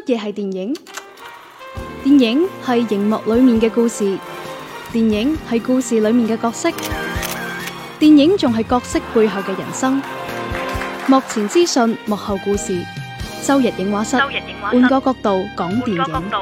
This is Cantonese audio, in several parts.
嘢係電影？電影係熒幕裏面嘅故事，電影係故事裏面嘅角色，電影仲係角色背後嘅人生。幕前資訊，幕後故事。周日映畫室，換個角度講電影。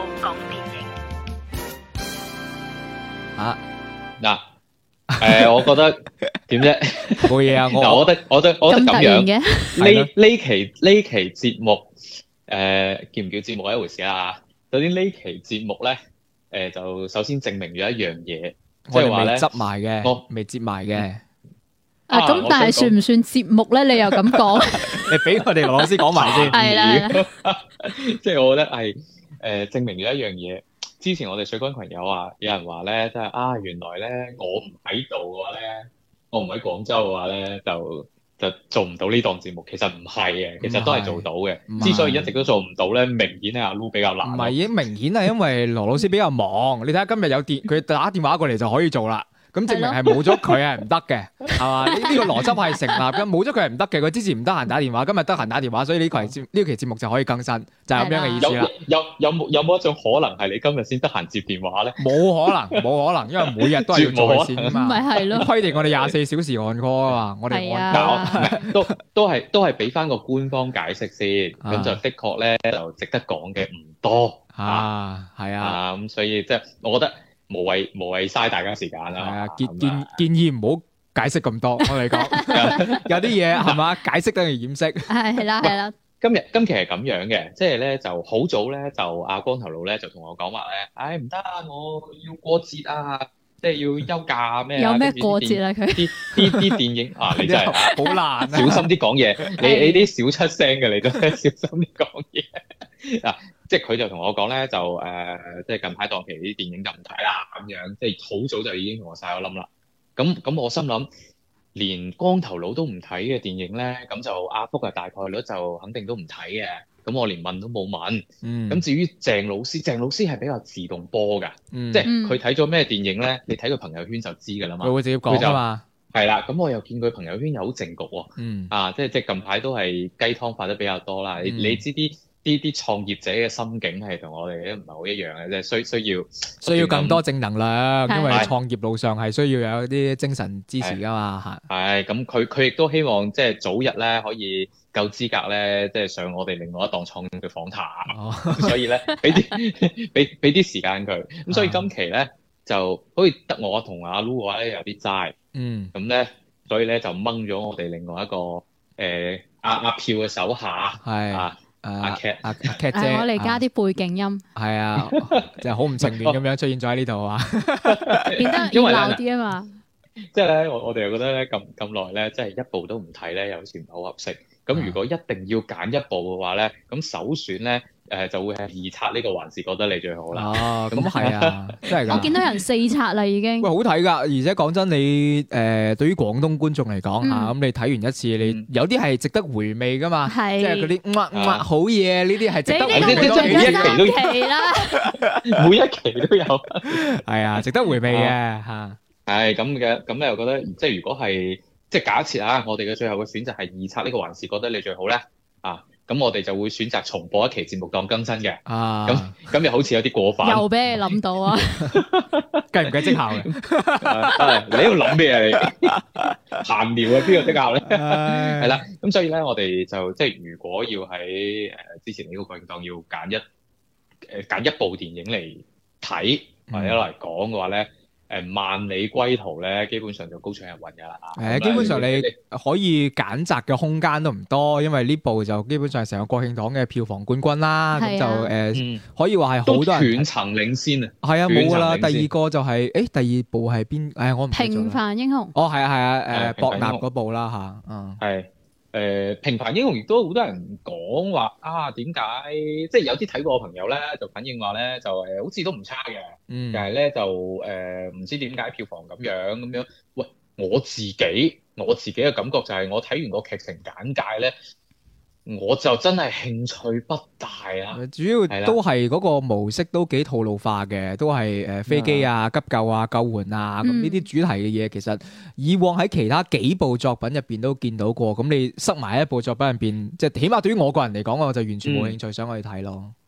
我覺得點啫？ 冇嘢啊！ 我覺得咁樣嘅呢期節目叫唔叫節目係一回事啦。首先呢期節目咧，就首先證明咗一樣嘢，即係話咧執埋嘅，我未接埋嘅。 咁但係算唔算節目咧？你又咁講？ 你俾我哋羅老師講埋先。 係啦， 即係我覺得係證明咗一樣嘢。之前我哋水軍群有人話咧，即係原來咧我唔喺度嘅話咧，我唔喺廣州嘅話咧，就做唔到呢檔節目。其實唔係嘅，其實都係做到嘅。之所以一直都做唔到咧，明顯係阿 Lu 比較難。 唔係，已經明顯係因為羅老師比較忙。你睇下今日佢打電話過嚟就可以做啦。咁證明係冇咗佢係唔得嘅，係嘛？呢個邏輯係成立嘅，冇咗佢係唔得嘅。佢之前唔得閒打電話，今日得閒打電話，所以呢期節目就可以更新，就係咁樣嘅意思啦。 有冇一種可能係你今日先得閒接電話咧？ 冇可能，因為每日都係要做佢先啊嘛。 咪係咯， 規定我哋24小時按 call 啊嘛，我哋按交都係俾翻個官方解釋先，咁就的確咧就值得講嘅唔多係啊， 咁所以即係我覺得。無謂嘥大家時間啦。 建議唔好解釋咁多。我哋講有啲嘢係嘛，解釋等於掩飾。 係啦。 今期係咁樣嘅，即係咧就好早咧就阿光頭佬咧就同我講話咧，唔得，我要過節啊，即係要休假咩？ 有咩過節啊？佢啲電影你真係好難啊！ 小心啲講嘢，你啲少出聲嘅你都小心啲講嘢嗱。即係佢就同我講咧，就即係近排檔期啲電影就唔睇啦，咁樣即係好早就已經同我晒咗冧啦。咁我心諗，連光頭佬都唔睇嘅電影咧，咁就阿福大概率就肯定都唔睇嘅。咁我連問都冇問。咁至於鄭老師係比較自動波㗎，即係佢睇咗咩電影咧，你睇佢朋友圈就知㗎啦嘛。 佢會直接講啊嘛。 係啦，咁我又見佢朋友圈又好正局喎。即係近排都係雞湯發得比較多啦。你知啲創業者嘅心境係同我哋都唔係好一樣嘅，即係需要更多正能量，因為創業路上係需要有啲精神支持噶嘛。係咁，佢亦都希望即係早日咧可以夠資格咧，即係上我哋另外一檔創業嘅訪談。所以咧俾啲時間佢。咁所以今期咧就好似得我同阿 Lu 嘅話咧有啲齋。咁咧所以咧就掹咗我哋另外一個阿票嘅手下阿 Cat 姐， 我嚟加啲背景音， 係啊，就係好唔情願咁樣出現咗喺呢度啊， 變得熱鬧啲啊嘛。 即係咧，我哋又覺得咧咁耐咧，即係一部都唔睇咧，有時唔係好合適。咁如果一定要揀一部嘅話咧，咁首選咧就會係二刷呢個還是覺得你最好啦。 咁係啊，真係㗎。 我見到人4刷啦已經。 喂，好睇㗎，而且講真，你對於廣東觀眾嚟講咁你睇完一次，你有啲係值得回味㗎嘛。即係嗰啲好嘢，呢啲係值得回味多幾期啦。 每一期都有。 係啊，值得回味嘅嚇。 係咁嘅，咁你又覺得即係如果係即係假設我哋嘅最後嘅選擇係二刷呢個還是覺得你最好咧咁我哋就會選擇重播一期節目當更新嘅咁又好似有啲過分， 又俾你諗到啊， 計唔計績效嘅？ 你喺度諗咩啊？你閒聊邊個績效咧？係啦，咁所以咧我哋就即係如果要喺之前呢個過程當要揀一部電影嚟睇或者嚟講嘅話咧。萬里歸途咧，基本上就高唱入雲㗎啦。 基本上你可以揀擇嘅空間都唔多，因為呢部就基本上係成個國慶檔嘅票房冠軍啦。咁就可以話係好多人斷層領先啊。 係啊，冇㗎啦。第二個就係第二部係邊？我唔記得咗。 平凡英雄。 係啊，博納嗰部啦嚇。 係。平凡英雄亦都好多人講話點解即係有啲睇過嘅朋友咧就反映話咧就好似都唔差嘅，但係咧就唔知點解票房咁樣。喂，我自己嘅感覺就係我睇完個劇情簡介咧，我就真係興趣不大啦。 主要都係嗰個模式都幾套路化嘅，都係飛機急救救援咁呢啲主題嘅嘢，其實以往喺其他幾部作品入邊都見到過。咁你塞埋一部作品入邊，即係起碼對於我個人嚟講，我就完全冇興趣想去睇咯。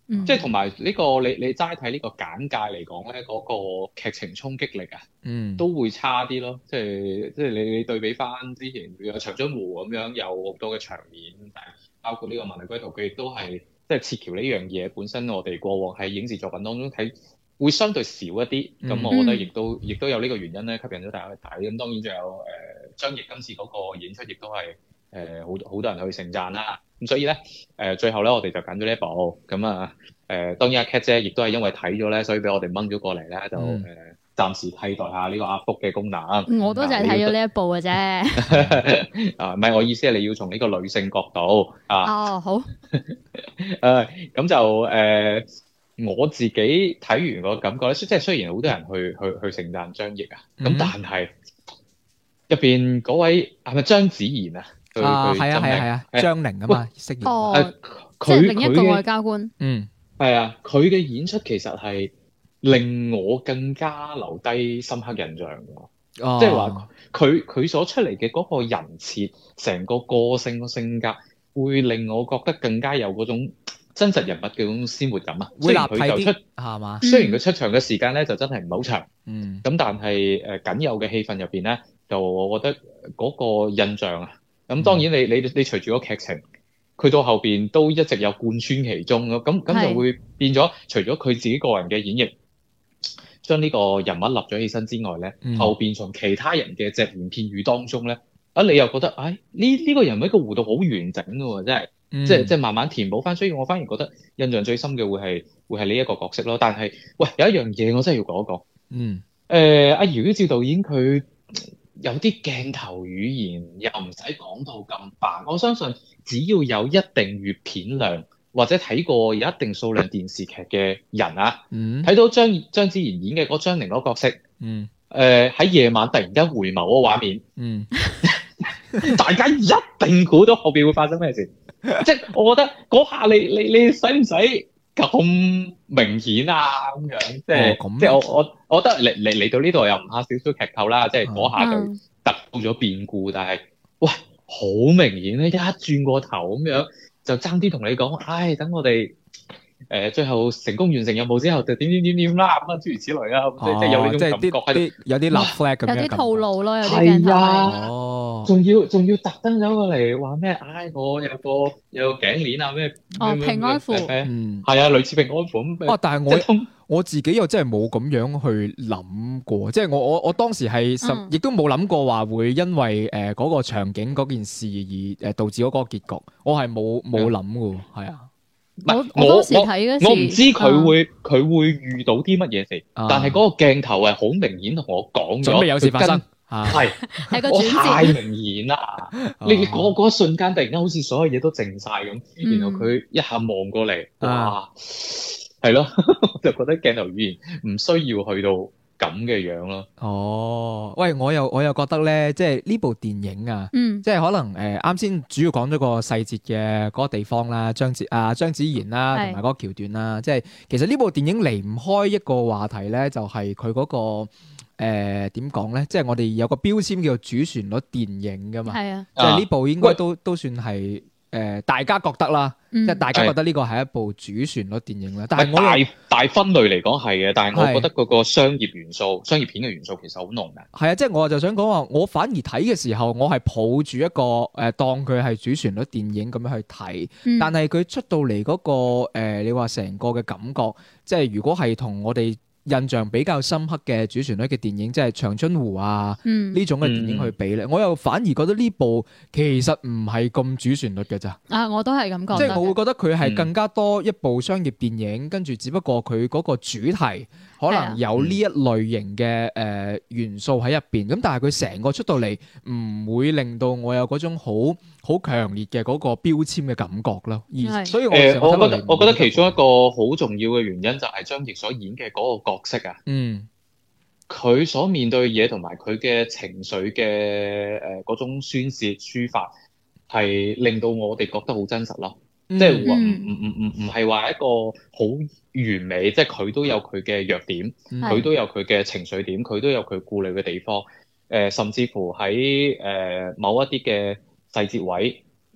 即係同埋呢個你齋睇呢個簡介嚟講咧，嗰個劇情衝擊力啊，都會差啲咯。即係你對比翻之前有長津湖咁樣有好多嘅場面，包括呢個《萬里歸途》，佢亦都係即係撤僑呢樣嘢本身，我哋過往喺影視作品當中睇會相對少一啲。咁我覺得亦都有呢個原因咧，吸引咗大家去睇。咁當然仲有張譯今次嗰個演出亦都係好多人去盛讚啦。咁所以咧最後咧我哋就揀咗呢一部。咁當然阿 Cat 姐亦都係因為睇咗咧，所以俾我哋掹咗過嚟咧，就暫時替代下呢個阿福嘅功能。 我都就係睇咗呢一部嘅啫。 唔係，我意思係你要從呢個女性角度啊。 哦，好。 咁就我自己睇完個感覺咧，即係雖然好多人去盛讚張譯啊，咁但係入邊嗰位係咪張子妍啊？係啊，張寧啊嘛，飾演。 哦，即係另一個外交官。 係啊，佢嘅演出其實係令我更加留低深刻印象㗎。即係話佢所出嚟嘅嗰個人設，成個個性個性格，會令我覺得更加有嗰種真實人物嘅嗰種鮮活感啊。 會立體啲係嘛？雖然佢出場嘅時間咧就真係唔係好長，咁但係僅有嘅戲份入邊咧，就我覺得嗰個印象啊。咁當然你隨住個劇情，佢到後邊都一直有貫穿其中咯。咁就會變咗，除咗佢自己個人嘅演繹，將呢個人物立咗起身之外咧，後邊從其他人嘅隻言片語當中咧，你又覺得呢個人物嘅弧度好完整嘅喎，真係，即係慢慢填補翻。所以我反而覺得印象最深嘅會係呢一個角色咯。但係喂，有一樣嘢我真係要講一講。阿姚依照導演佢有啲鏡頭語言又唔使講到咁白，我相信只要有一定閱片量或者睇過有一定數量電視劇嘅人啊，睇到張子妍演嘅嗰張寧嗰個角色，喺夜晚突然間回眸嗰個畫面，大家一定估到後邊會發生咩事。即係我覺得嗰下你使唔使咁明顯啊？咁樣即係我覺得嚟到呢度又唔怕少少劇透啦，即係嗰下就突到咗變故，但係喂好明顯咧，一轉過頭咁樣就爭啲同你講，等我哋最後成功完成任務之後就點啦，咁諸如此類啦，即係有呢種感覺喺度， 有啲立 flag 咁樣， 有啲套路咯，有啲鏡頭係仲要特登走過嚟話咩？我有個頸鏈啊咩？ 平安符， 係啊，類似平安符咁。 但係我自己又真係冇咁樣去諗過，即係我當時係亦都冇諗過話會因為嗰個場景嗰件事而導致嗰個結局，我係冇諗嘅，係啊。 我當時睇嗰時， 我唔知佢會遇到啲乜嘢事，但係嗰個鏡頭係好明顯同我講咗， 準備有事發生。 係個轉折， 太明顯啦！你嗰一瞬間突然間好似所有嘢都靜晒咁，然後佢一下望過嚟，哇，係咯，我就覺得鏡頭語言唔需要去到咁嘅樣咯。 喂，我又覺得咧，即係呢部電影啊，即係可能啱先主要講咗個細節嘅嗰個地方啦，張子妍啦，同埋嗰個橋段啦，即係其實呢部電影離唔開一個話題咧，就係佢嗰個。點講咧？即係我哋有個標籤叫做主旋律電影噶嘛， 係啊， 即係呢部應該都算係大家覺得啦，即係大家覺得呢個係一部主旋律電影啦。但係我大分類嚟講係嘅，但係我覺得嗰個商業元素、商業片嘅元素其實好濃嘅。 係啊，即係我就想講話，我反而睇嘅時候，我係抱住一個當佢係主旋律電影咁樣去睇，但係佢出到嚟嗰個你話成個嘅感覺，即係如果係同我哋印象比較深刻嘅主旋律嘅電影，即係長津湖啊呢種嘅電影去比咧，我又反而覺得呢部其實唔係咁主旋律嘅咋。 我都係咁覺得。 即係我會覺得佢係更加多一部商業電影，跟住只不過佢嗰個主題可能有呢一類型嘅元素喺入邊，咁但係佢成個出到嚟唔會令到我有嗰種好強烈嘅嗰個標籤嘅感覺咯。所以我覺得其中一個好重要嘅原因就係張譯所演嘅嗰個角色啊，佢所面對嘅嘢同埋佢嘅情緒嘅嗰種宣泄抒發，係令到我哋覺得好真實咯。即係唔係話一個好完美，即係佢都有佢嘅弱點，佢都有佢嘅情緒點，佢都有佢顧慮嘅地方。甚至乎喺某一啲嘅細節位，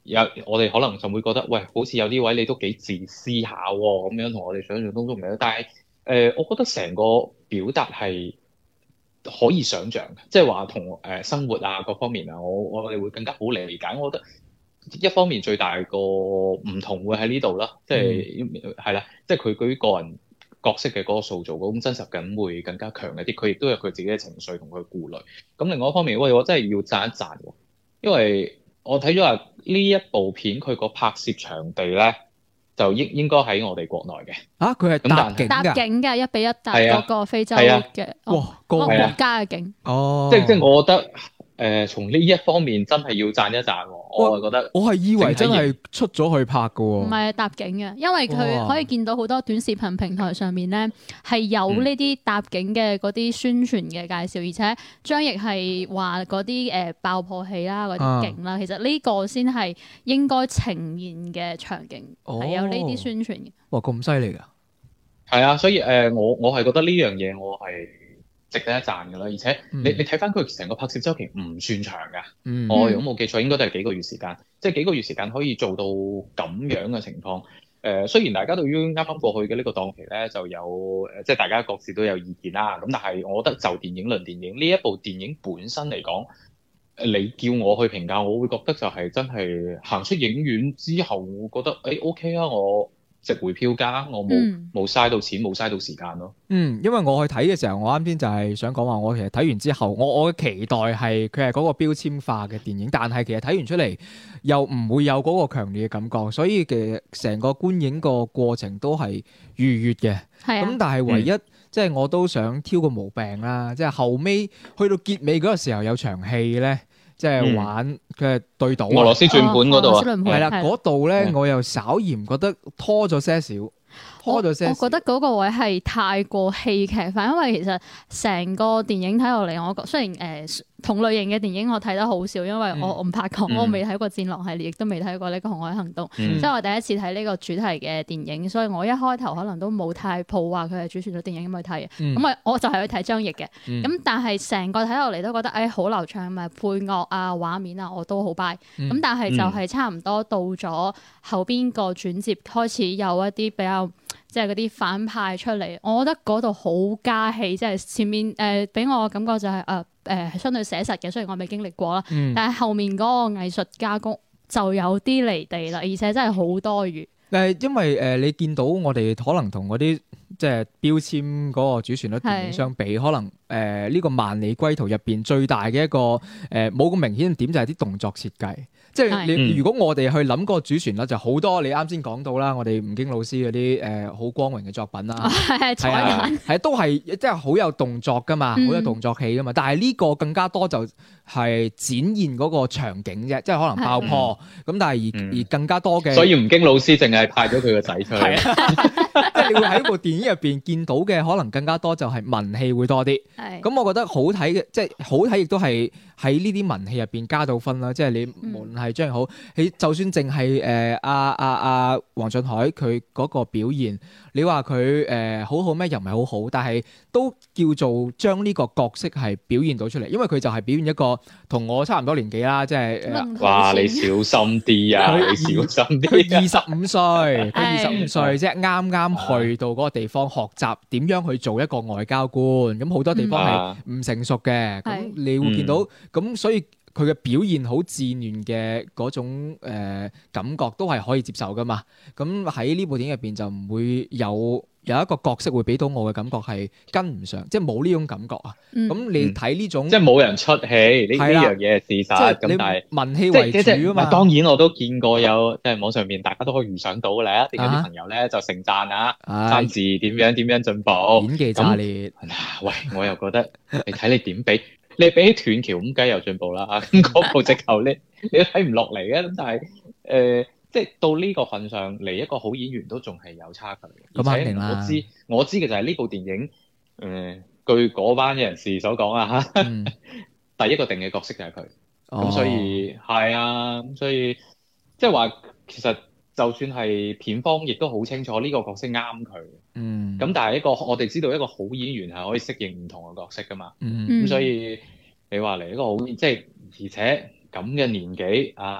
我哋可能就會覺得，喂，好似有啲位你都幾自私下喎，咁樣同我哋想象中都唔係。但係我覺得成個表達係可以想像嘅，即係話同生活啊各方面啊，我哋會更加好理解。我覺得一方面最大個唔同會喺呢度啦，即係係啦，即係佢對於個人角色嘅嗰個塑造嗰種真實感會更加強一啲。佢亦都有佢自己嘅情緒同佢顧慮。咁另外一方面，喂，我真係要讚一讚喎，因為我睇咗話呢一部片佢個拍攝場地咧，就應該喺我哋國內嘅。 佢係搭景嘅1:1搭嗰個非洲嘅， 哇， 國家嘅景。 哦，即係我覺得從呢一方面真係要讚一讚喎。我係覺得， 我係以為真係出咗去拍㗎喎。唔係搭景嘅，因為佢可以見到好多短視頻平台上面咧係有呢啲搭景嘅嗰啲宣傳嘅介紹，而且張譯係話嗰啲爆破戲啦、嗰啲景啦，其實呢個先係應該呈現嘅場景，係有呢啲宣傳嘅。 哇，咁犀利㗎！ 係啊，所以我係覺得呢樣嘢我係值得一讚㗎啦，而且你睇翻佢成個拍攝週期唔算長㗎，我如果冇記錯應該都係幾個月時間，即係幾個月時間可以做到咁樣嘅情況。雖然大家對於啱啱過去嘅呢個檔期咧就有即係大家各自都有意見啦，咁但係我覺得就電影論電影呢一部電影本身嚟講，你叫我去評價，我會覺得就係真係行出影院之後，我覺得OK 啊，我值回票價，我冇嘥到錢，冇嘥到時間咯。 因為我去睇嘅時候，我啱先就係想講話，我其實睇完之後，我嘅期待係佢係嗰個標籤化嘅電影，但係其實睇完出嚟又唔會有嗰個強烈嘅感覺，所以其實成個觀影個過程都係愉悅嘅。咁但係唯一即係我都想挑個毛病啦，即係後尾去到結尾嗰個時候有場戲咧。即係玩佢係對賭俄羅斯轉盤嗰度啊， 係啦，嗰度咧我又稍嫌覺得拖咗些少。我覺得嗰個位係太過戲劇化，因為其實成個電影睇落嚟，我雖然同類型嘅電影我睇得好少，因為我唔怕講，我未睇過《戰狼》系列，亦都未睇過呢個《紅海行動》，所以我第一次睇呢個主題嘅電影，所以我一開頭可能都冇太抱話佢係主旋律電影咁去睇嘅，咁我就係去睇張譯嘅，咁但係成個睇落嚟都覺得好流暢，咪配樂啊、畫面啊我都好 buy，咁但係就係差唔多到咗後邊個轉接開始有一啲比較。即係嗰啲反派出嚟，我覺得嗰度好加戲，即係前面俾我感覺就係相對寫實嘅，雖然我未經歷過啦，但係後面嗰個藝術加工就有啲離地啦，而且真係好多餘。 因為你見到我哋可能同嗰啲即係標籤嗰個主旋律電影相比，可能呢個萬里歸途入邊最大嘅一個冇咁明顯嘅點就係啲動作設計。即係你如果我哋去諗個主旋律就好多，你啱先講到啦，我哋吳京老師嗰啲好光榮嘅作品啦，係都係即係好有動作噶嘛，好有動作戲噶嘛。但係呢個更加多就係展現嗰個場景啫，即係可能爆破咁，但係而更加多嘅。所以吳京老師淨係派咗佢個仔出嚟， 即係你會喺部電影入邊見到嘅可能更加多就係文戲會多啲。咁我覺得好睇嘅，即係好睇亦都係喺呢啲文戲入邊加到分啦。即係你無論係張譯好，你就算淨係阿黃俊凱佢嗰個表現，你話佢好好咩？又唔係好好，但係都叫做將呢個角色係表現到出嚟，因為佢就係表現一個同我差唔多年紀啦，即係哇！你小心啲啊！你小心啲。 佢25歲，佢25歲即係啱啱去到嗰個地方學習點樣去做一個外交官，咁好多地方係唔成熟嘅，咁你會見到咁，所以佢嘅表現好自然嘅嗰種感覺都係可以接受噶嘛。咁喺呢部電影入邊就唔會有一個角色會俾到我嘅感覺係跟唔上，即係冇呢種感覺啊。咁你睇呢種即係冇人出戲呢樣嘢係事實，咁但係文戲為主啊嘛。 當然我都見過有即係網上面大家都可以預想到嘅咧，有啲朋友咧就盛讚讚字點樣進步， 演技炸裂。 喂，我又覺得你睇你點比。你比起斷橋咁梗係有進步啦，咁嗰部直頭你都睇唔落嚟嘅，咁但係即係到呢個份上嚟一個好演員都仲係有差距嘅。 咁肯定啦。 我知嘅就係呢部電影，據嗰班人士所講啊嚇，第一個定嘅角色就係佢，咁所以係啊，咁所以即係話其實就算係片方亦都好清楚呢個角色啱佢。咁但係我哋知道一個好演員係可以適應唔同嘅角色噶嘛。咁所以你話嚟一個好即係而且咁嘅年紀啊，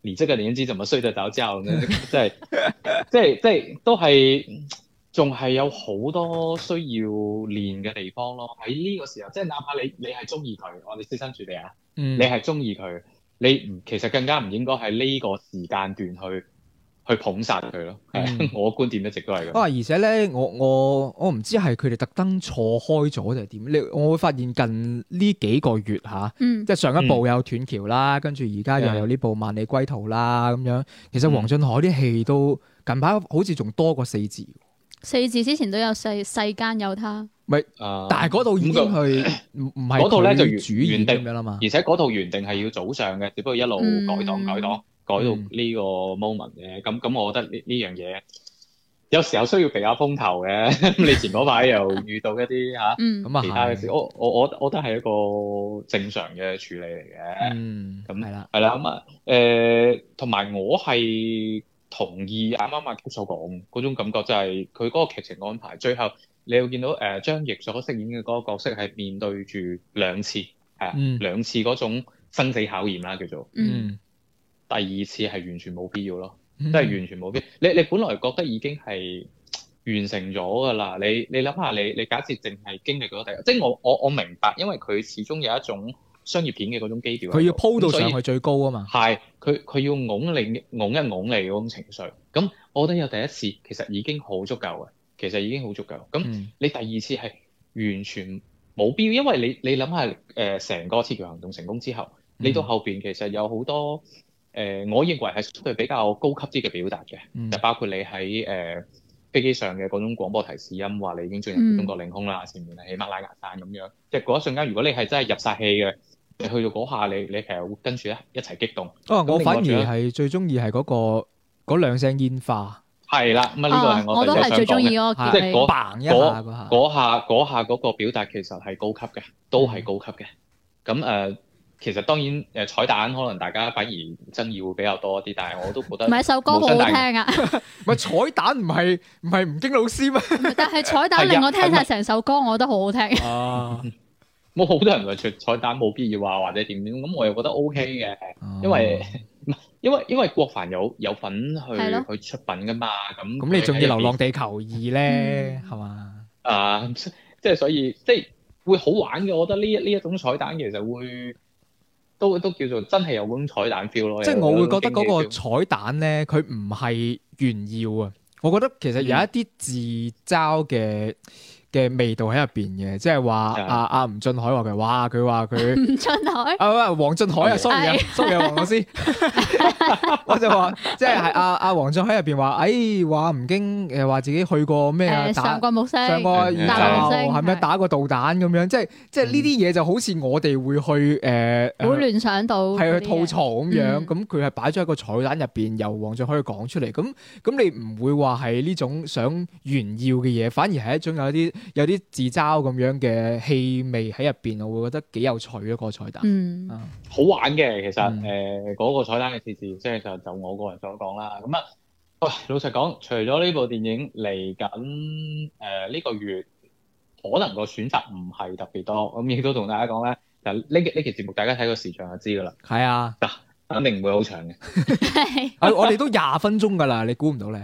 你這個年紀怎麼睡得着覺呢？即係都係仲係有好多需要練嘅地方咯。喺呢個時候，即係哪怕你係中意佢，我哋設身處地啊，你係中意佢，你其實更加唔應該喺呢個時間段去捧殺佢咯。我觀點一直都係咁。 而且咧，我唔知係佢哋特登錯開咗定係點？我會發現近呢幾個月嚇，即係上一部有斷橋啦，跟住而家又有呢部萬里歸途啦咁樣。其實黃俊凱啲戲都近排好似仲多過4字。4 字之前都有世間有他。 咪，但係嗰套已經係唔係嗰套咧就主演定咁樣啦嘛。 而且嗰套原定係要早上嘅，只不過一路改檔。改到呢個 moment 嘅，咁我覺得呢樣嘢有時候需要避下風頭嘅。你前嗰排又遇到一啲其他嘅事，我覺得係一個正常嘅處理嚟嘅。咁係啦，同埋我係同意啱啱阿 K 所講嗰種感覺，就係佢嗰個劇情安排，最後你會見到張譯所飾演嘅嗰個角色係面對住兩次兩次嗰種生死考驗啦，叫做第二次係完全冇必要咯，即係完全冇必要。你本來覺得已經係完成咗㗎啦，你諗下，你假設淨係經歷咗第一，即係我明白，因為佢始終有一種商業片嘅嗰種基調， 佢要鋪到上去最高啊嘛。 係佢要拱一拱你嗰種情緒。咁我覺得有第一次其實已經好足夠嘅，咁你第二次係完全冇必要，因為你諗下成個鐵橋行動成功之後，你到後邊其實有好多。我認為係相對比較高級啲嘅表達嘅，就包括你喺飛機上嘅嗰種廣播提示音，話你已經進入中國領空啦，前面係喜馬拉雅山咁樣。即係嗰一瞬間，如果你係真係入晒戲嘅，你去到嗰下，你其實會跟住一齊激動。 我反而係最中意係嗰兩聲煙花。係啦，咁呢個係我都係最中意嗰個， 即係嗰下嗰個表達其實係高級嘅，都係高級嘅。咁其實當然彩蛋可能大家反而爭議會比較多啲，但係我都覺得唔係首歌好好聽啊！ 唔係彩蛋唔係吳京老師咩？ 但係彩蛋令我聽晒成首歌，我覺得好好聽。 冇好多人話彩蛋冇必要話或者點，咁我又覺得 OK 嘅，因為郭帆有份去出品噶嘛，咁你仲要《流浪地球2》咧，係嘛？ 即係所以即係會好玩嘅，我覺得呢一種彩蛋其實會。都叫做真係有嗰種彩蛋 feel 咯， 即係我會覺得嗰個彩蛋咧，佢唔係炫耀啊，我覺得其實有一啲自嘲嘅味道喺入邊嘅，即係話阿吳俊凱話佢吳俊凱黃俊凱啊，sorry 啊，黃老師，我就話即係阿黃俊凱入邊話，話吳京話自己去過咩啊？ 上過木星， 上過宇宙係咪打過導彈咁樣？即係呢啲嘢就好似我哋會去會聯想到係去吐槽咁樣，咁佢係擺咗喺個彩蛋入邊，由黃俊凱講出嚟，咁你唔會話係呢種想炫耀嘅嘢，反而係一種有啲自嘲咁樣嘅氣味喺入邊，我會覺得幾有趣咯，個彩蛋。 好玩嘅其實嗰個彩蛋嘅設置，即係就我個人所講啦。咁老實講，除咗呢部電影嚟緊呢個月，可能個選擇唔係特別多。咁亦都同大家講咧，就呢期節目大家睇個時長就知㗎啦。 係啊， 肯定唔會好長嘅。 我哋都20分鐘㗎啦，你估唔到咧。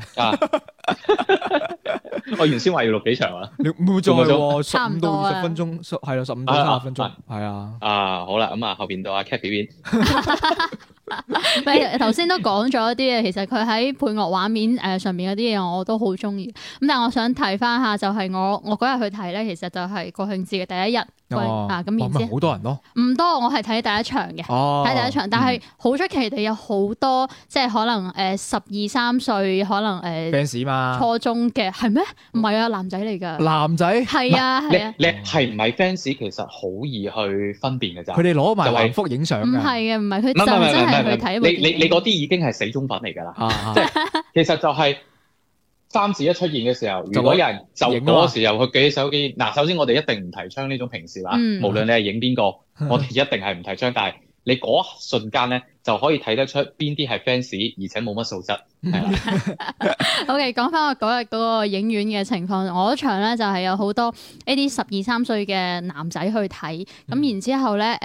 我原先話要錄幾長啊？ 你唔會再喎，15到 20 分鐘，係啦，15到30分鐘，係啊。 好啦，咁後邊到阿 Cat 表演。 咪頭先都講咗一啲嘢，其實佢喺配樂畫面上面嗰啲嘢我都好中意。咁但係我想提翻下，就係我嗰日去睇咧，其實就係國慶節嘅第一日。咁然之後好多人咯， 唔多，我係睇第一場嘅，睇第一場，但係好出奇地有好多即係可能12、13歲，可能 fans 嘛， 初中嘅係咩？唔係啊，男仔嚟㗎。 男仔係啊。 你係唔係 fans 其實好易去分辨嘅咋。 佢哋攞埋橫幅影相㗎。 唔係嘅，唔係佢就真係去睇。 你嗰啲已經係死忠粉嚟㗎啦。即係其實就係3字一出現嘅時候，如果有人就嗰時候去舉起手機，首先我哋一定唔提倡呢種平視啦。無論你係影邊個，我哋一定係唔提倡。但係你嗰瞬間咧， 就可以睇得出邊啲係 fans，而且冇乜素質。係啦。 OK， 講翻我嗰日嗰個影院嘅情況，我嗰場咧就係有好多呢啲12、13歲嘅男仔去睇，咁然之後咧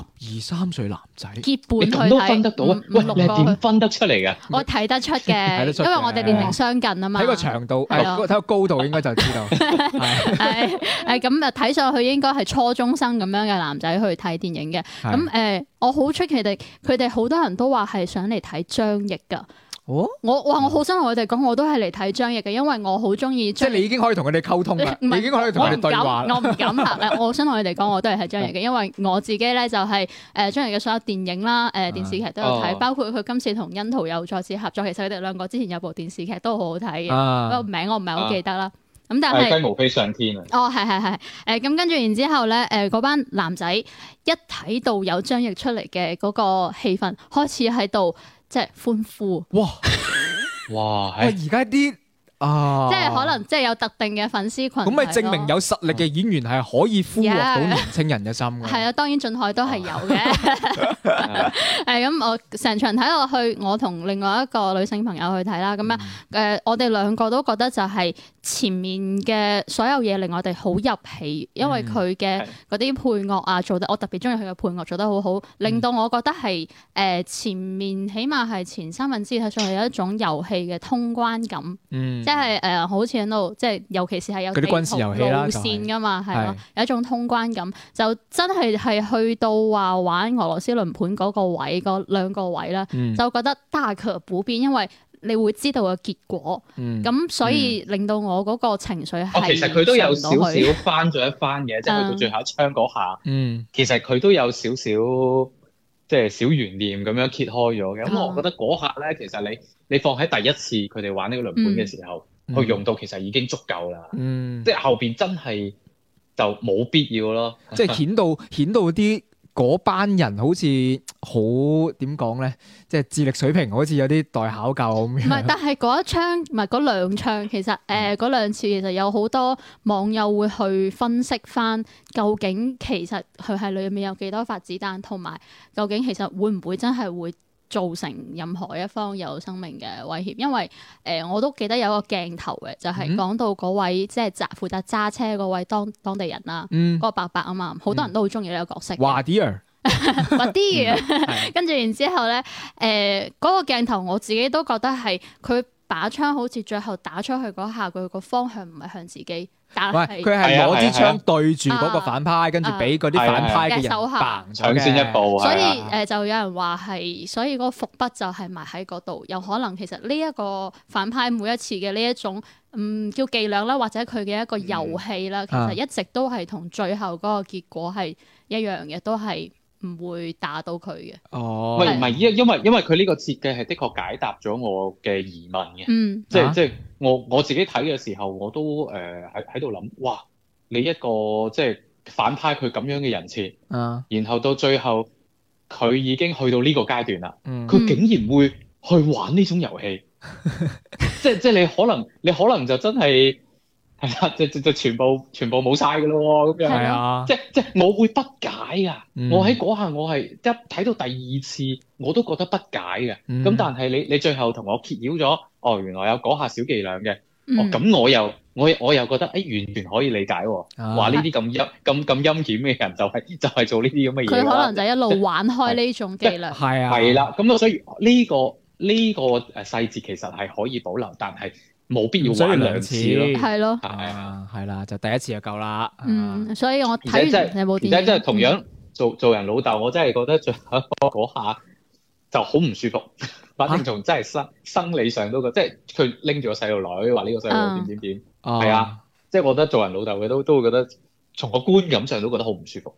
12、13歲男仔結伴去睇， 你咁都分得到啊？喂，你係點分得出嚟㗎？ 我睇得出嘅，因為我哋年齡相近啊嘛。 睇個長度，睇個高度應該就知道。 係咁啊，睇上去應該係初中生咁樣嘅男仔去睇電影嘅。咁我好出奇佢哋好多人都話係想嚟睇張譯㗎。 哦， 我好想同佢哋講，我都係嚟睇張譯嘅，因為我好中意。 即係你已經可以同佢哋溝通啦，你已經可以同佢哋對話啦。 我唔敢嚇，我想同佢哋講，我都係睇張譯嘅，因為我自己咧就係張譯嘅所有電影啦、電視劇都有睇，包括佢今次同殷桃有再次合作，其實佢哋兩個之前有部電視劇都好好睇嘅，不過名我唔係好記得啦。咁但係雞毛飛上天啊！ 哦，係，咁跟住然之後咧，嗰班男仔一睇到有張譯出嚟嘅嗰個氣氛，開始喺度即係歡呼。 哇！而家啲即係可能即係有特定嘅粉絲群， 咁咪證明有實力嘅演員係可以俘獲到年青人嘅心㗎。 係啊，當然俊凱都係有嘅。咁我成場睇落去，我同另外一個女性朋友去睇啦。咁我哋兩個都覺得就係前面嘅所有嘢令我哋好入戲，因為佢嘅嗰啲配樂啊做得，我特別中意佢嘅配樂做得好好，令到我覺得係前面起碼係前3分之二睇上去有一種遊戲嘅通關感。即係好似喺度，即係尤其是係有地圖路線㗎嘛，係咯，有一種通關感，就真係去到話玩俄羅斯輪盤嗰個位，嗰2個位啦，就覺得大可不必，因為你會知道個結果，咁所以令到我嗰個情緒係其實佢都有少少翻咗一番嘅，即係去到最後一槍嗰下，其實佢都有少少即係小懸念咁樣揭開咗嘅。咁我覺得嗰下咧，其實你放喺第一次佢哋玩呢個輪盤嘅時候，去用到其實已經足夠啦。即係後邊真係就冇必要咯。 即係顯到啲嗰班人好似好點講咧，即係智力水平好似有啲待考究咁樣。 唔係，但係嗰一槍唔係嗰2槍，其實嗰2次其實有好多網友會去分析翻，究竟其實佢係裏面有幾多發子彈，同埋究竟其實會唔會真係會造成任何一方有生命嘅威脅？因為我都記得有個鏡頭嘅，就係講到嗰位即係負責揸車嗰位當地人啦，嗰個伯伯啊嘛，好多人都好中意呢個角色。 華迪爾， 跟住然之後咧，嗰個鏡頭我自己都覺得係佢把槍好似最後打出去嗰下，佢個方向唔係向自己。但係佢係攞支槍對住嗰個反派，跟住俾嗰啲反派嘅人搶先一步。 所以就有人話係，所以嗰個伏筆就係埋喺嗰度。有可能其實呢一個反派每一次嘅呢一種叫伎倆啦，或者佢嘅一個遊戲啦，其實一直都係同最後嗰個結果係一樣嘅，都係唔會打到佢嘅。 唔係，因為佢呢個設計係的確解答咗我嘅疑問嘅。即係我自己睇嘅時候，我都喺度諗，哇！你一個即係反派佢咁樣嘅人設，然後到最後佢已經去到呢個階段啦，佢竟然會去玩呢種遊戲，即係你可能就真係係啦，就全部冇晒㗎咯喎，咁樣。係啊，即係我會不解㗎。我喺嗰下我係一睇到第2次我都覺得不解嘅。咁但係你最後同我揭曉咗，原來有嗰下小伎倆嘅。咁我又覺得完全可以理解喎。話呢啲咁陰險嘅人就係做呢啲咁嘅嘢。 佢可能就一路玩開呢種伎倆。 係啊。 係啦，咁所以呢個細節其實係可以保留，但係冇必要玩2次咯。 係咯。 係啦，就第1次就夠啦。 所以我睇完有冇電影？ 而且真係同樣做人老豆，我真係覺得最後嗰下就好唔舒服。反正從真係生理上都覺得，即係佢拎住個細路女話呢個細路點，係啊，即係我覺得做人老豆嘅都會覺得，從個觀感上都覺得好唔舒服。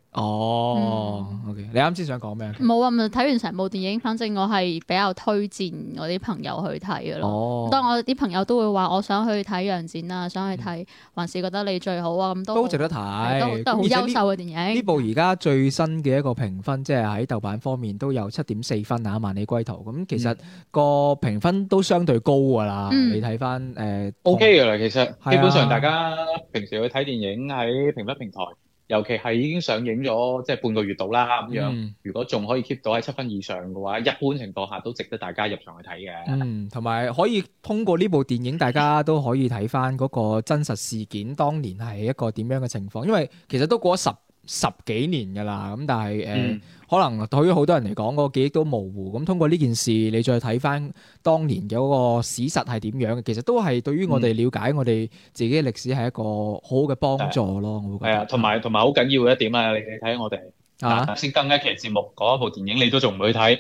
OK，你啱先想講咩？ 冇啊，咪睇完成部電影，反正我係比較推薦我啲朋友去睇嘅咯。當我啲朋友都會話，我想去睇楊展啊，想去睇，還是覺得你最好啊，咁都值得睇， 都好優秀嘅電影。 呢部而家最新嘅一個評分，即係喺豆瓣方面都有7.4分啊，《萬里歸途》咁其實個評分都相對高㗎啦。你睇翻OK 㗎啦，其實基本上大家平時去睇電影喺評分平台尤其係已經上映咗即係半個月到啦咁樣，如果仲可以 keep 到喺7分以上嘅話，一般情況下都值得大家入場去睇嘅。 同埋可以通過呢部電影，大家都可以睇翻嗰個真實事件，當年係一個點樣嘅情況。因為其實都過咗十幾年㗎啦，咁但係可能對於好多人嚟講，個記憶都模糊。咁通過呢件事，你再睇翻當年嘅嗰個史實係點樣嘅，其實都係對於我哋了解我哋自己嘅歷史係一個好好嘅幫助咯。我會覺得係啊， 同埋好緊要嘅一點啊！你睇我哋先更一期節目講一部電影，你都仲唔去睇？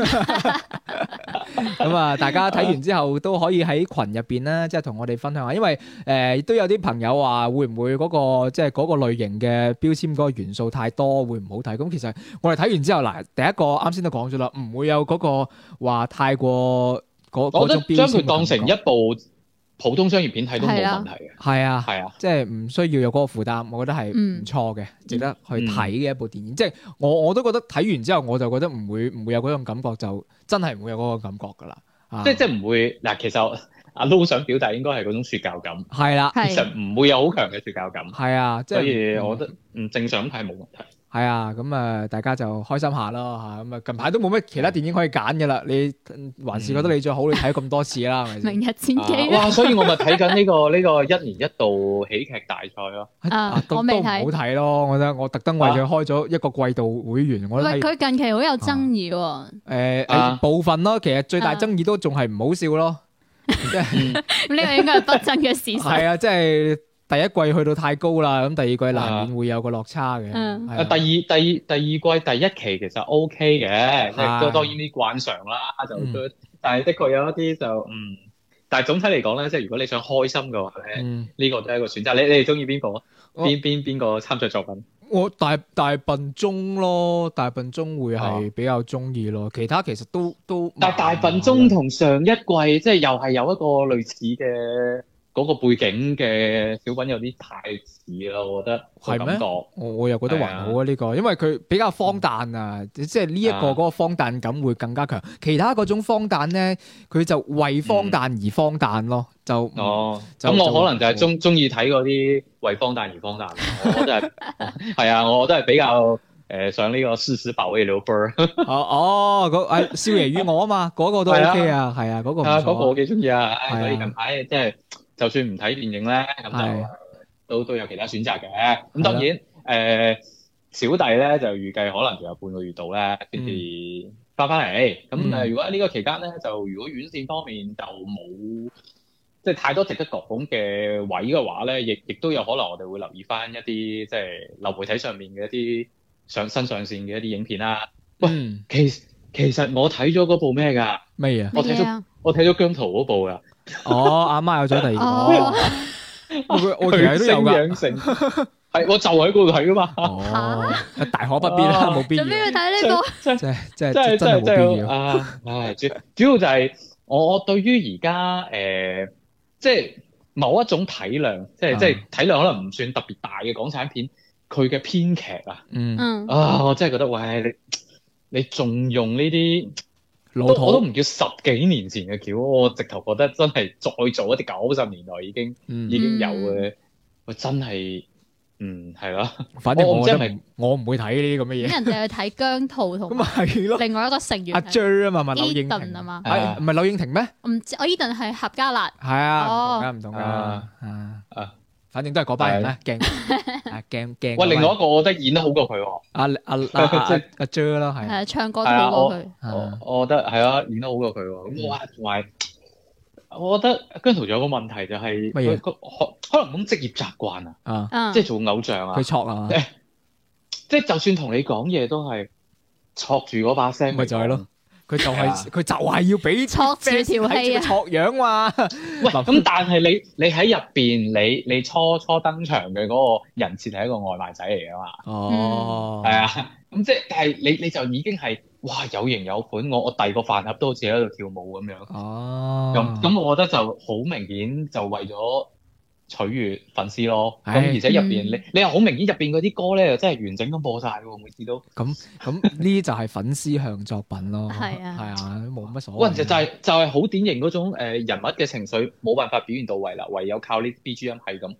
咁啊，大家睇完之後都可以喺群入邊咧，即係同我哋分享下，因為都有啲朋友話會唔會嗰個即係嗰個類型嘅標籤嗰個元素太多，會唔好睇？咁其實我哋睇完之後，嗱，第一個啱先都講咗啦，唔會有嗰個話太過嗰種標籤。我覺得將佢當成一部普通商業片睇都冇問題嘅。 係啊，即係唔需要有嗰個負擔，我覺得係唔錯嘅，值得去睇嘅一部電影。即係我都覺得睇完之後，我就覺得唔會有嗰種感覺，就真係唔會有嗰個感覺㗎啦。 即係唔會嗱，其實阿 Lo 想表達應該係嗰種説教感。係啦，其實唔會有好強嘅説教感。係啊，所以我覺得正常咁睇冇問題。 係啊，咁大家就開心下咯嚇。咁近排都冇乜其他電影可以揀嘅啦。你還是覺得你最好，你睇咁多次啦，係咪先？ 明日戰記哇！所以我咪睇緊呢個一年一度喜劇大賽咯。 我未睇，都唔好睇咯。我覺得我特登為佢開咗一個季度會員。我覺得佢近期好有爭議喎。 部分咯，其實最大爭議都仲係唔好笑咯。即係呢個應該係不爭嘅事實。 係啊，即係。第一季去到太高啦，咁第二季難免會有個落差嘅。 第二季第一期其實 OK 嘅，即係當然啲慣常啦，但係的確有一啲就但係總體嚟講咧，即係如果你想開心嘅話咧，呢個都係一個選擇。你哋中意邊個？邊個參賽作品？ 我大笨鐘咯，大笨鐘會係比較中意咯。其他其實都但係大笨鐘同上一季即係又係有一個類似嘅。嗰個背景嘅小品有啲太似啦，我覺得係咩？ 我又覺得還好啊呢個，因為佢比較荒誕啊，即係呢一個嗰個荒誕感會更加強。其他嗰種荒誕咧，佢就為荒誕而荒誕咯，就咁我可能就係中意睇嗰啲為荒誕而荒誕。我都係係啊，我都係比較上呢個誓死保衛劉備。 少爺與我啊嘛，嗰個都 OK 啊，係啊，嗰個唔錯。 嗰個我幾中意啊，所以近排即係。就算唔睇電影咧，咁就都有其他選擇嘅。咁當然，小弟咧就預計可能仲有半個月度咧先至翻嚟。咁如果喺呢個期間咧，就如果院線方面就冇即係太多值得講嘅位嘅話咧，亦都有可能我哋會留意翻一啲即係流媒體上面嘅一啲新上線嘅一啲影片啦。喂，其實我睇咗嗰部咩㗎？ 咩啊？ 我睇咗姜濤嗰部㗎。 阿媽有咗第二個，我其實都有㗎，係我就喺嗰度睇㗎嘛。大可不必啦，冇必要。做咩要睇呢個？真係冇必要。 主要就係我對於而家即係某一種體量，即係體量可能唔算特別大嘅港產片，佢嘅編劇啊，我真係覺得喂你仲用呢啲？我都唔叫10幾年前嘅橋，我直頭覺得真係再做一啲90年代已經有嘅，我真係係咯。 反正我唔會睇呢啲咁嘅嘢。 人哋去睇姜濤同另外一個成員阿 J 啊嘛，問柳應廷啊嘛， 唔係柳應廷咩？ 唔知我Eden係闔家辣。 係啊，唔同㗎。反正都係嗰班人啦，驚。 喂，另外一個我覺得演得好過佢喎。 阿 J 啦，係。 係唱歌都好過佢。 我覺得係啊，演得好過佢喎。咁哇，同埋我覺得姜濤仲有個問題就係佢可能咁職業習慣啊，即係做偶像啊。 佢錯啊！ 即係就算同你講嘢都係錯住嗰把聲。 咪就係咯。佢就係要俾撮住條氣啊， 撮樣嘛。 喂，咁但係你喺入邊，你初登場嘅嗰個人設係一個外賣仔嚟噶嘛？ 哦， 係啊，咁即係，但係你就已經係哇有型有款，我遞個飯盒都好似喺度跳舞咁樣。 哦， 咁我覺得就好明顯就為咗取悅粉絲咯，咁而且入邊你又好明顯入邊嗰啲歌咧，又真係完整咁播晒喎，每次都。咁呢啲就係粉絲向作品咯。 係啊， 冇乜所謂。 就係好典型嗰種人物嘅情緒冇辦法表現到位啦，唯有靠呢 BGM 係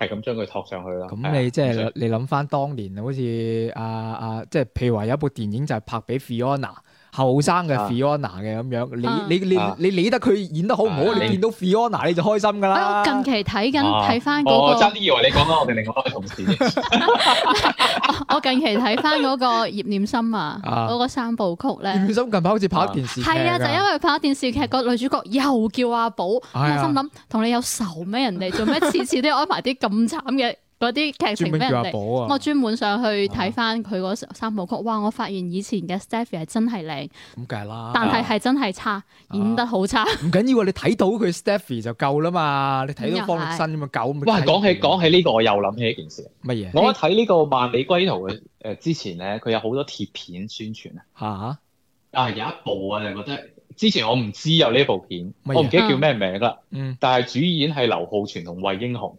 係咁將佢托上去咯。 咁你即係你諗翻當年，好似即係譬如話有一部電影就係拍俾 Fiona 後生嘅 Fiona 嘅咁樣，你理得佢演得好唔好？你見到 Fiona 你就開心噶啦。 我近期睇翻嗰個， 我差啲以為你講緊我哋另外一位同事。 我近期睇翻嗰個葉念琛啊，嗰個三部曲咧。葉念琛近排好似拍電視劇。 係啊，就因為拍電視劇個女主角又叫阿寶，我心諗同你有仇咩？人哋做咩次次都要安排啲咁慘嘅嗰啲劇情俾人哋？我專門上去睇翻佢嗰三部曲，哇！我發現以前嘅 Stephy 係真係靚， 咁梗係啦， 但係真係差，演得好差。 唔緊要啊，你睇到佢 Stephy 就夠啦嘛，你睇到方力申咁啊夠。 哇！講起呢個，我又諗起一件事。 乜嘢？ 我睇呢個《萬里歸途》嘅之前咧，佢有好多貼片宣傳啊。有一部啊，就覺得之前我唔知有呢部片，我唔記得叫咩名啦。但係主演係劉浩存同惠英紅。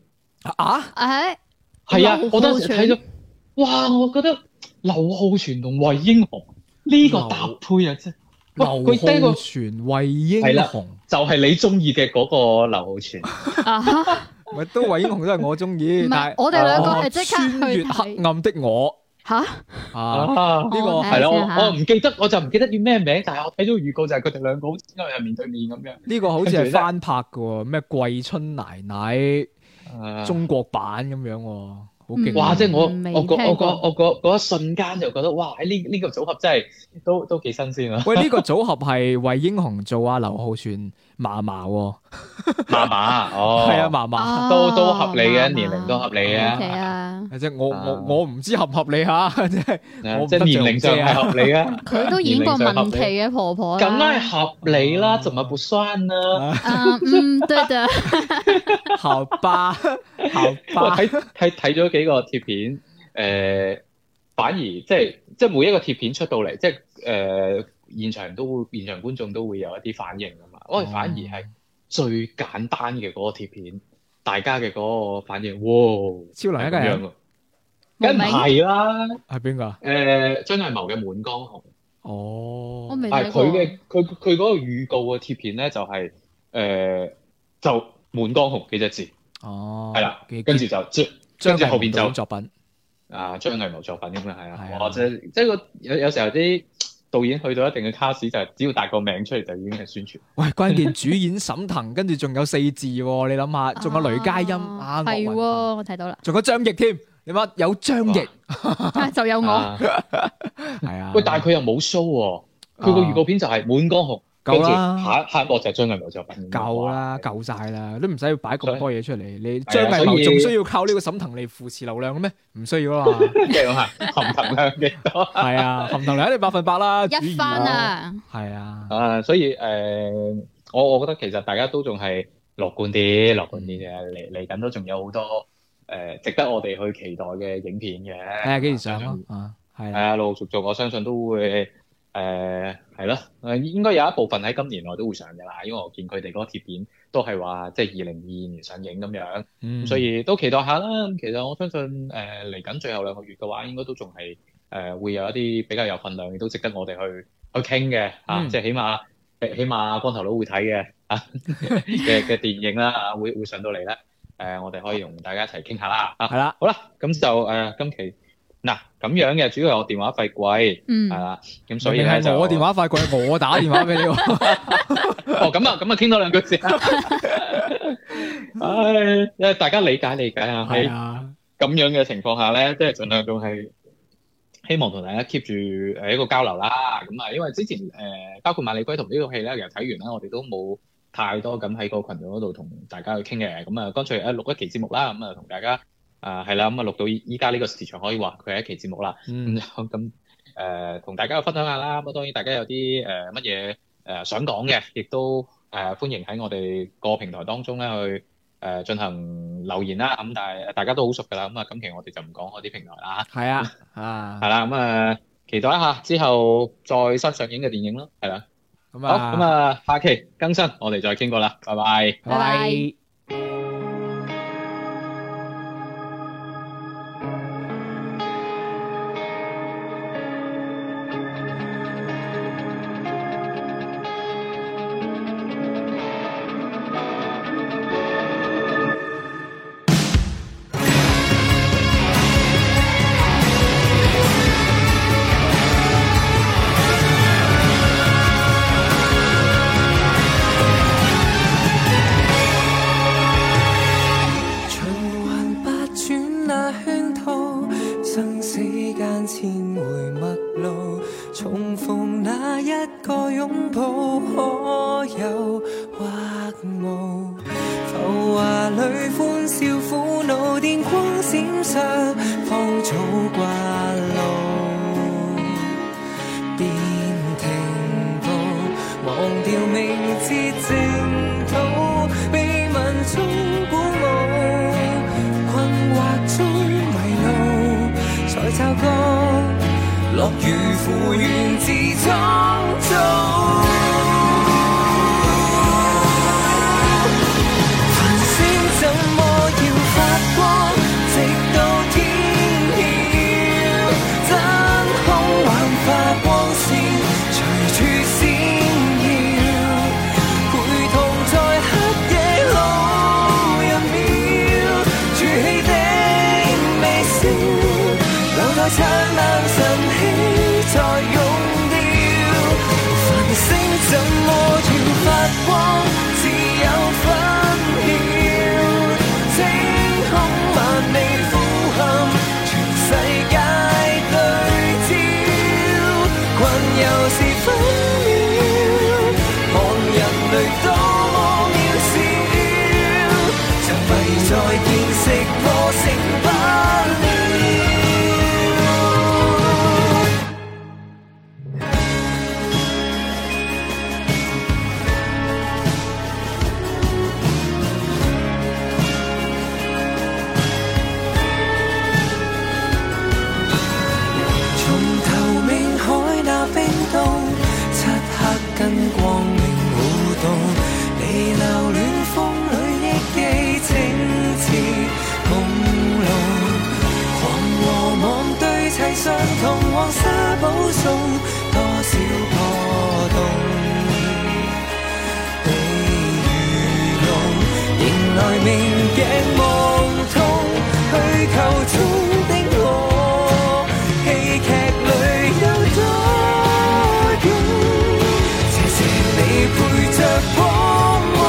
係啊，我當時睇咗，哇！我覺得劉浩存同惠英紅呢個搭配啊，真係劉浩存、惠英紅， 就係你中意嘅嗰個劉浩存。 咪都惠英紅都係我中意，但係我哋兩個係即刻穿越黑暗的我。 呢個係咯，我唔記得，我就唔記得叫咩名，但係我睇咗預告就係佢哋兩個好似因為係面對面咁樣。呢個好似係翻拍嘅喎，咩桂春奶奶。中國版咁樣喎，好勁！ 哇！即係我嗰一瞬間就覺得，哇！呢個組合真係都幾新鮮啊！ 喂，呢個組合係惠英紅做阿劉浩存嫲嫲喎， 嫲嫲哦，係啊，嫲嫲都合理嘅，年齡都合理嘅。 即係我唔知合唔合理嚇，即係年齡上係合理啊！ 佢都演過文琪嘅婆婆啦， 梗係合理啦，怎麼不算呢？ 對的， 好吧。 我睇咗幾個貼片，反而即係每一個貼片出到嚟，即係現場觀眾都會有一啲反應㗎嘛。我哋反而係最簡單嘅嗰個貼片，大家嘅嗰個反應，哇！ 超能一個人， 梗唔係啦， 係邊個？ 張藝謀嘅《滿江紅》。 哦， 我未睇過。 佢嗰個預告嘅貼片咧，就係就《滿江紅》幾隻字。 哦， 係啦，跟住就跟住後邊就作品張藝謀作品咁樣係啊，或者即係有時候啲導演去到一定嘅卡士，就係只要帶個名出嚟就已經係宣傳。 喂，關鍵主演沈騰，跟住仲有4字喎，你諗下，仲有雷佳音係喎，我睇到啦， 仲有張譯添，你話有張譯就有我， 係啊。 喂，但係佢又冇 show 喎，佢個預告片就係《滿江紅》。 夠啦， 下一幕就係張藝謀作品。 夠啦，夠晒啦，都唔使擺咁多嘢出嚟。你張藝謀仲需要靠呢個沈騰嚟扶持流量嘅咩？唔需要啦嘛。 即係含騰量幾多？ 係啊，含騰量一定100%啦， 一番啊。 係啊。 所以我覺得其實大家都仲係樂觀啲嘅，嚟緊都仲有好多值得我哋去期待嘅影片嘅。 睇下幾時上咯。係啊， 陸陸續續我相信都會。係咯，應該有一部分喺今年內都會上嘅啦，因為我見佢哋嗰個貼片都係話即係2022年上映咁樣，咁所以都期待下啦。咁其實我相信嚟緊最後2個月嘅話，應該都仲係會有一啲比較有份量，亦都值得我哋去傾嘅即係起碼光頭佬會睇嘅嘅電影啦，會上到嚟咧。我哋可以同大家一齊傾下啦。 係啦， 好啦，咁就今期。嗱咁樣嘅，主要係我電話費貴，係啦，咁所以咧就我電話費貴，我打電話俾你。 哦，咁啊，傾多2句先。因為大家理解啊，喺咁樣嘅情況下咧，即係盡量仲係希望同大家 keep 住一個交流啦。咁啊，因為之前包括《萬里歸途》呢個戲咧，其實睇完啦，我哋都冇太多咁喺個群組嗰度同大家去傾嘅。咁啊，乾脆錄一期節目啦，咁啊同大家。係啦，咁啊錄到依家呢個時長可以話佢係一期節目啦。咁同大家去分享下啦。咁當然大家有啲乜嘢想講嘅，亦都歡迎喺我哋個平台當中咧去進行留言啦。咁但係大家都好熟㗎啦。咁啊今期我哋就唔講嗰啲平台啦。 係啊， 係啦。咁期待一下之後再新上映嘅電影咯。係啦。好，咁下期更新我哋再傾過啦。拜拜。 拜拜。 那圈套，生死間千回陌路，重逢那一個擁抱，可有或無？浮華裏歡笑苦惱，電光閃爍，芳草掛路，便停步，忘掉明節淨土，被文中鼓舞，困惑中迷路，才察覺樂與苦源自創造。怎麼要發光，直到天曉？真空幻化光線，隨處閃耀，陪同在黑夜路一秒，築起的微笑，留待燦爛晨曦再溶掉。繁星怎麼要發光，自有分曉。萬里呼喊，全世界對焦，困又是分秒，看人類多麼渺小，像謎再見識破成不了。跟光明互動，你留戀風裏憶記清澈朦朧，狂和網對齊相同，黃沙保送多少破洞，被愚弄，迎來明鏡夢痛，虛構中的我，戲劇裏有多陪着光芒，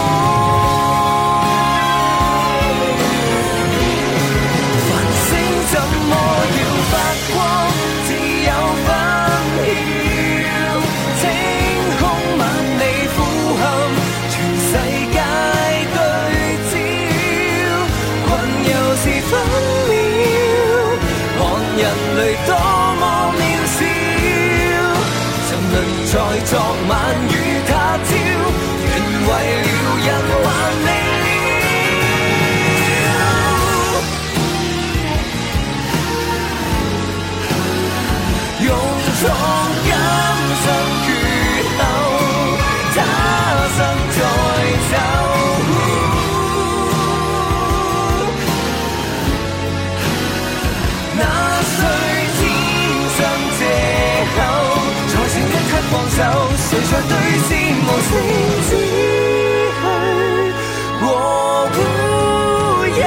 繁星怎麼要發光，自有分曉。清空萬里呼喊，全世界對焦，困又是分秒，看人類多麼渺小，沉淪在昨晚與他朝，原為了人還未了，用錯今生缺口，他生再走。那誰天生借口，才剩一刻放手，誰在對峙無聲之去和烏有，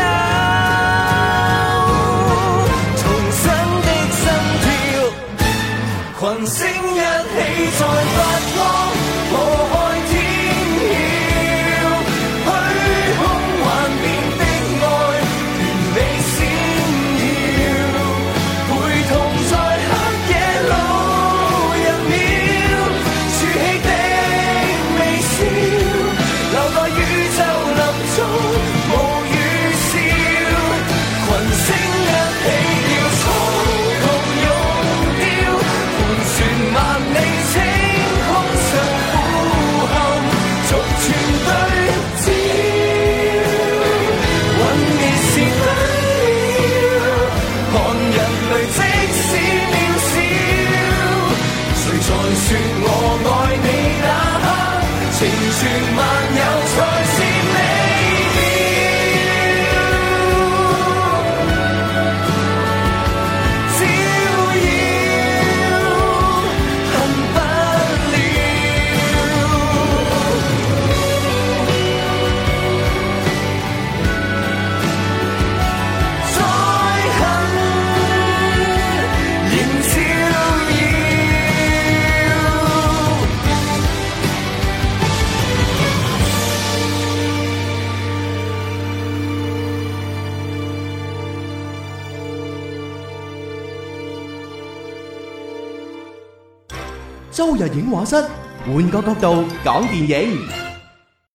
重生的心跳，群星一起再發光，破開天曉，虛空幻變的愛，完美閃耀，陪同在黑夜路一秒，築起的微周日影畫室，換個角度講電影。